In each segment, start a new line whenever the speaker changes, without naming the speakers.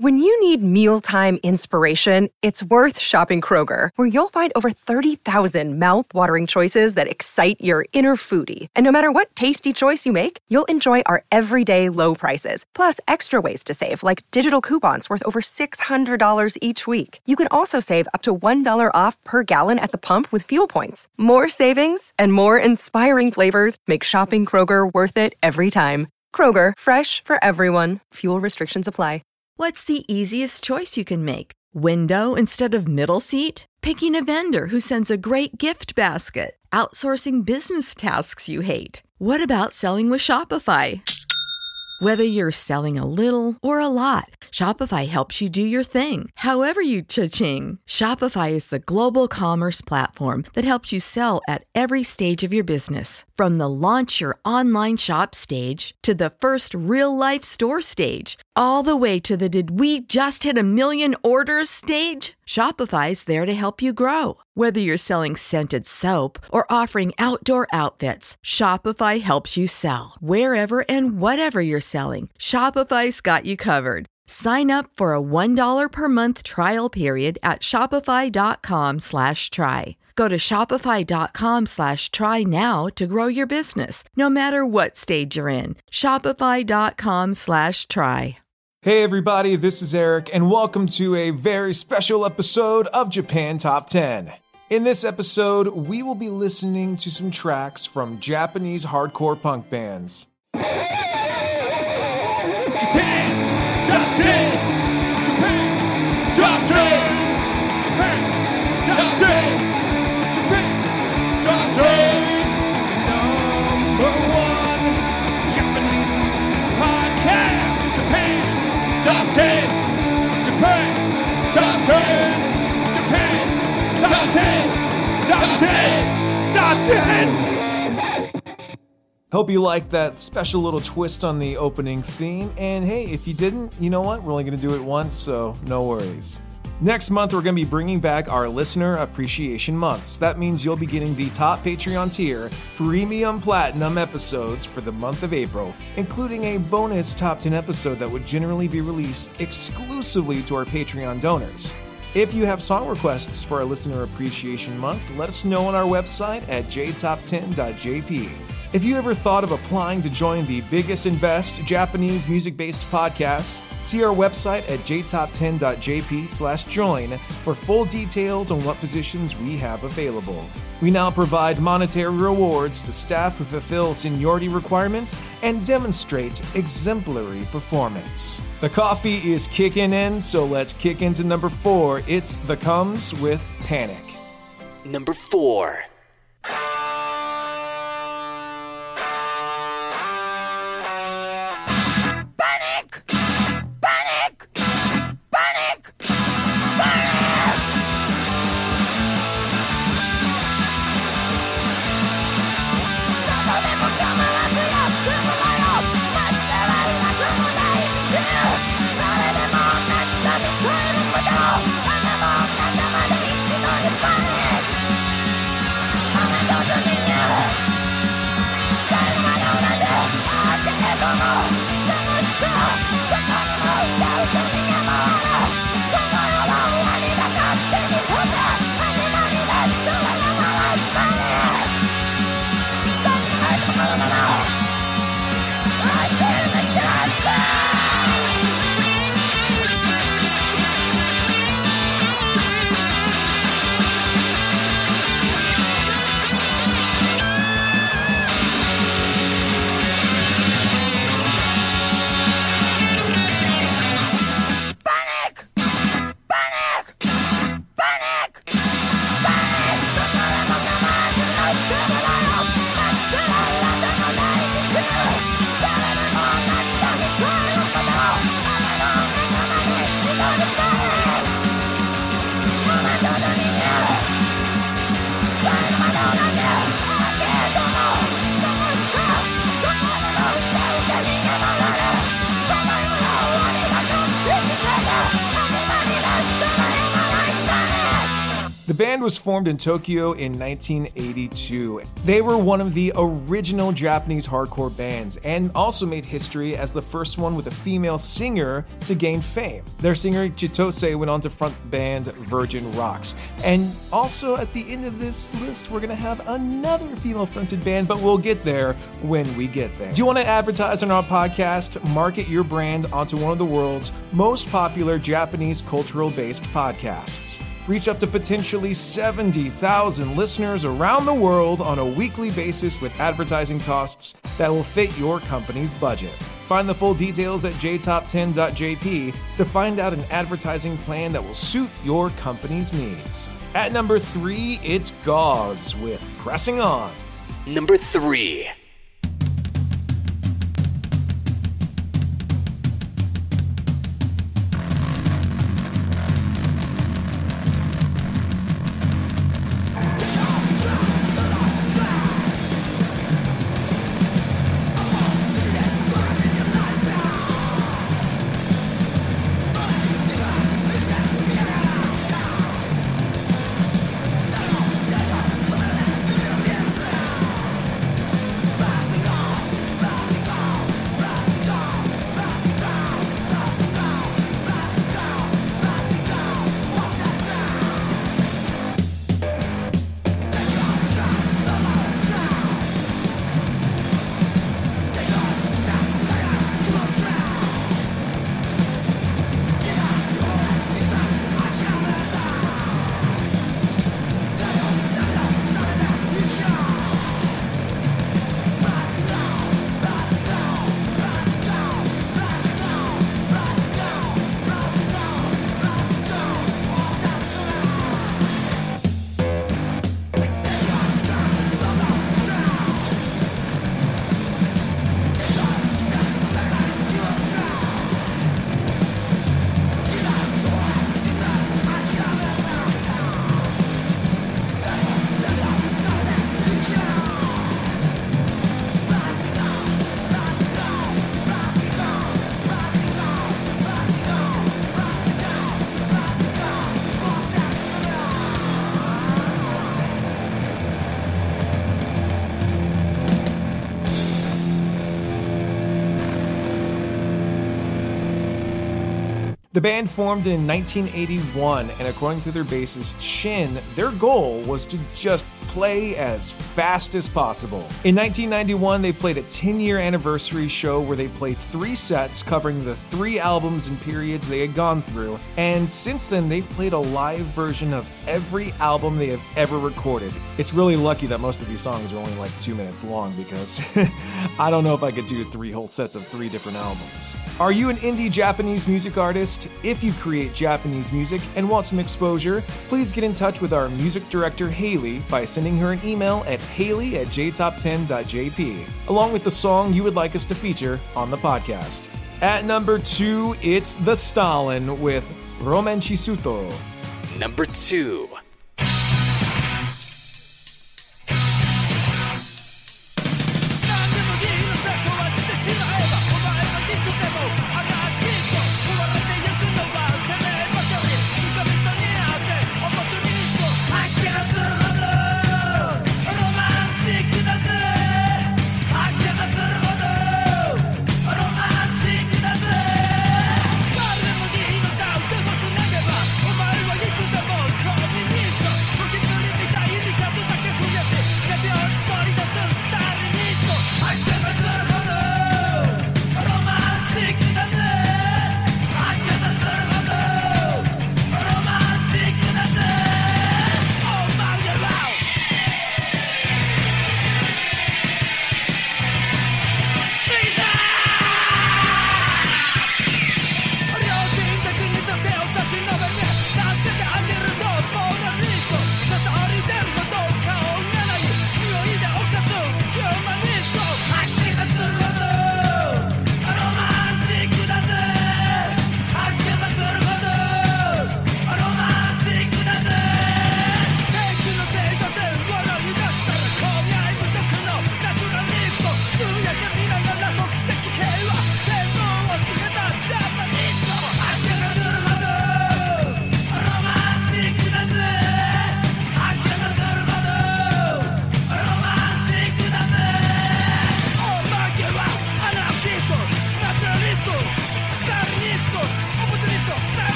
When you need mealtime inspiration, it's worth shopping Kroger, where you'll find over 30,000 mouth-watering choices that excite your inner foodie. And no matter what tasty choice you make, you'll enjoy our everyday low prices, plus extra ways to save, like digital coupons worth over $600 each week. You can also save up to $1 off per gallon at the pump with fuel points. More savings and more inspiring flavors make shopping Kroger worth it every time. Kroger, fresh for everyone. Fuel restrictions apply.
What's the easiest choice you can make? Window instead of middle seat? Picking a vendor who sends a great gift basket? Outsourcing business tasks you hate? What about selling with Shopify? Whether you're selling a little or a lot, Shopify helps you do your thing, however you cha-ching. Shopify is the global commerce platform that helps you sell at every stage of your business. From the launch your online shop stage to the first real-life store stage, all the way to the did we just hit 1 million orders stage. Shopify's there to help you grow. Whether you're selling scented soap or offering outdoor outfits, Shopify helps you sell. Wherever and whatever you're selling, Shopify's got you covered. Sign up for a $1 per month trial period at shopify.com/try. Go to shopify.com/try now to grow your business, no matter what stage you're in. Shopify.com/try.
Hey everybody, this is Eric, and welcome to a very special episode of Japan Top 10. In this episode, we will be listening to some tracks from Japanese hardcore punk bands.
Japan Top 10! Japan Top 10! Japan Top 10! Japan Top 10! Number one Japanese music podcast! Japan Top 10! Japan Top 10! Japan Top 10! Top 10! Top 10!
Hope you liked that special little twist on the opening theme, and hey, if you didn't, you know what? We're only going to do it once, so no worries. Next month, we're going to be bringing back our Listener Appreciation Months. That means you'll be getting the top Patreon tier, Premium Platinum episodes for the month of April, including a bonus top 10 episode that would generally be released exclusively to our Patreon donors. If you have song requests for our Listener Appreciation Month, let us know on our website at jtop10.jp. If you ever thought of applying to join the biggest and best Japanese music-based podcast, see our website at jtop10.jp/join for full details on what positions we have available. We now provide monetary rewards to staff who fulfill seniority requirements and demonstrate exemplary performance. The coffee is kicking in, so let's kick into number 4. It's The Comes with Panic.
Number 4.
The band was formed in Tokyo in 1982. They were one of the original Japanese hardcore bands and also made history as the first one with a female singer to gain fame. Their singer Chitose went on to front the band Virgin Rocks. And also at the end of this list, we're going to have another female-fronted band, but we'll get there when we get there. Do you want to advertise on our podcast? Market your brand onto one of the world's most popular Japanese cultural-based podcasts. Reach up to potentially 70,000 listeners around the world on a weekly basis with advertising costs that will fit your company's budget. Find the full details at jtop10.jp to find out an advertising plan that will suit your company's needs. At number 3, it's Gauze with Pressing On.
Number 3.
The band formed in 1981, and according to their bassist Shin, their goal was to just play as fast as possible. In 1991, they played a 10-year anniversary show where they played 3 sets covering the 3 albums and periods they had gone through, and since then they've played a live version of every album they have ever recorded. It's really lucky that most of these songs are only like 2 minutes long because I don't know if I could do 3 whole sets of 3 different albums. Are you an indie Japanese music artist? If you create Japanese music and want some exposure, please get in touch with our music director Haley by sending her an email at haley@jtop10.jp, along with the song you would like us to feature on the podcast. At number 2, it's The Stalin with Roman Chisuto.
Number 2.
Call me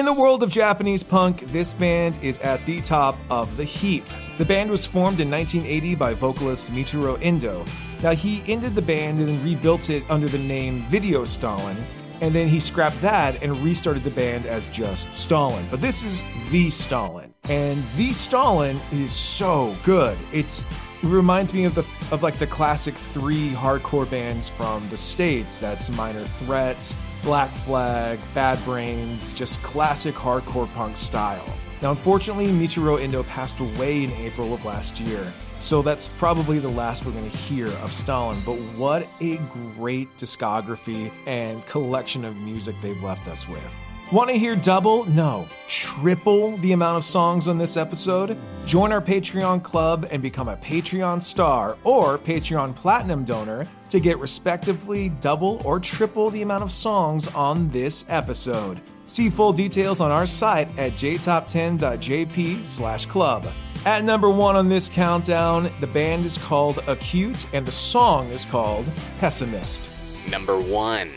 In the world of Japanese punk, this band is at the top of the heap. The band was formed in 1980 by vocalist Michiru Endo. Now, he ended the band and then rebuilt it under the name Video Stalin, and then he scrapped that and restarted the band as just Stalin. But this is The Stalin, and The Stalin is so good. It reminds me of the classic 3 hardcore bands from the States. That's Minor Threat, Black Flag, Bad Brains, just classic hardcore punk style. Now, unfortunately, Michiru Endo passed away in April of last year, so that's probably the last we're going to hear of Stalin, but what a great discography and collection of music they've left us with. Want to hear double? No, triple the amount of songs on this episode? Join our Patreon club and become a Patreon star or Patreon platinum donor to get respectively double or triple the amount of songs on this episode. See full details on our site at jtop10.jp/club. At number 1 on this countdown, the band is called Acute and the song is called Pessimist.
Number 1.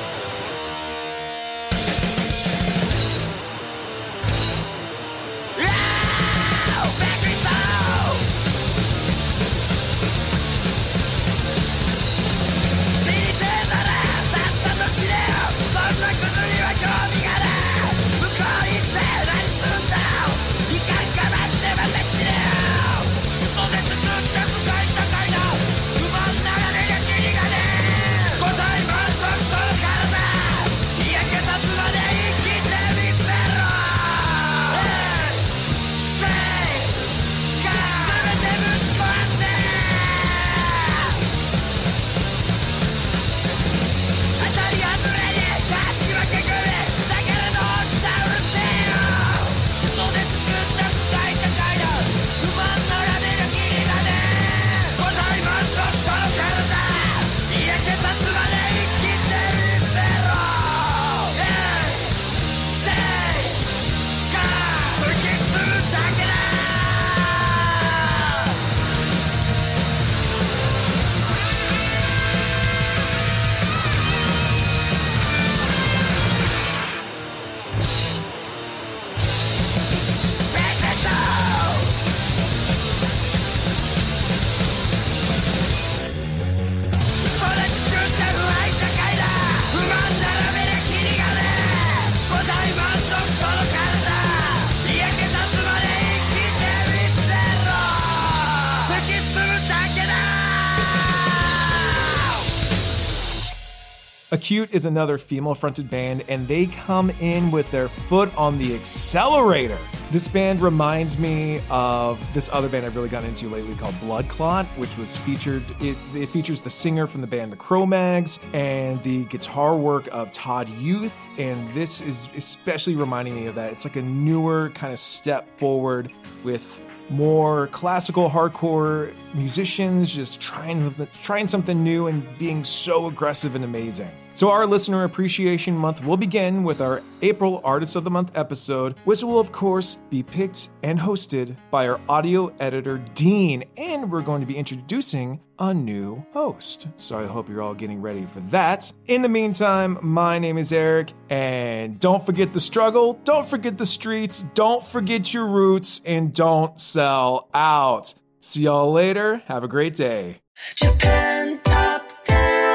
Acute is another female-fronted band, and they come in with their foot on the accelerator. This band reminds me of this other band I've really gotten into lately called Blood Clot, which was featured. It features the singer from the band The Cro-Mags and the guitar work of Todd Youth, and this is especially reminding me of that. It's like a newer kind of step forward with more classical hardcore musicians just trying something new and being so aggressive and amazing. So our Listener Appreciation Month will begin with our April Artist of the Month episode, which will of course be picked and hosted by our audio editor Dean, and we're going to be introducing a new host. So I hope you're all getting ready for that. In the meantime, my name is Eric, and don't forget the struggle, don't forget the streets, don't forget your roots, and don't sell out. See y'all later. Have a great day.
Japan Top 10.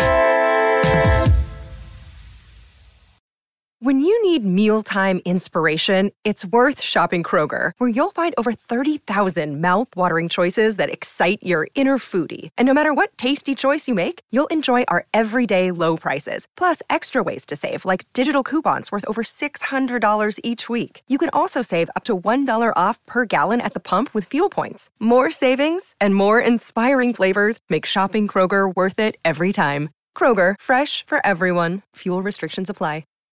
When you need mealtime inspiration, it's worth shopping Kroger, where you'll find over 30,000 mouth-watering choices that excite your inner foodie. And no matter what tasty choice you make, you'll enjoy our everyday low prices, plus extra ways to save, like digital coupons worth over $600 each week. You can also save up to $1 off per gallon at the pump with fuel points. More savings and more inspiring flavors make shopping Kroger worth it every time. Kroger, fresh for everyone. Fuel restrictions apply.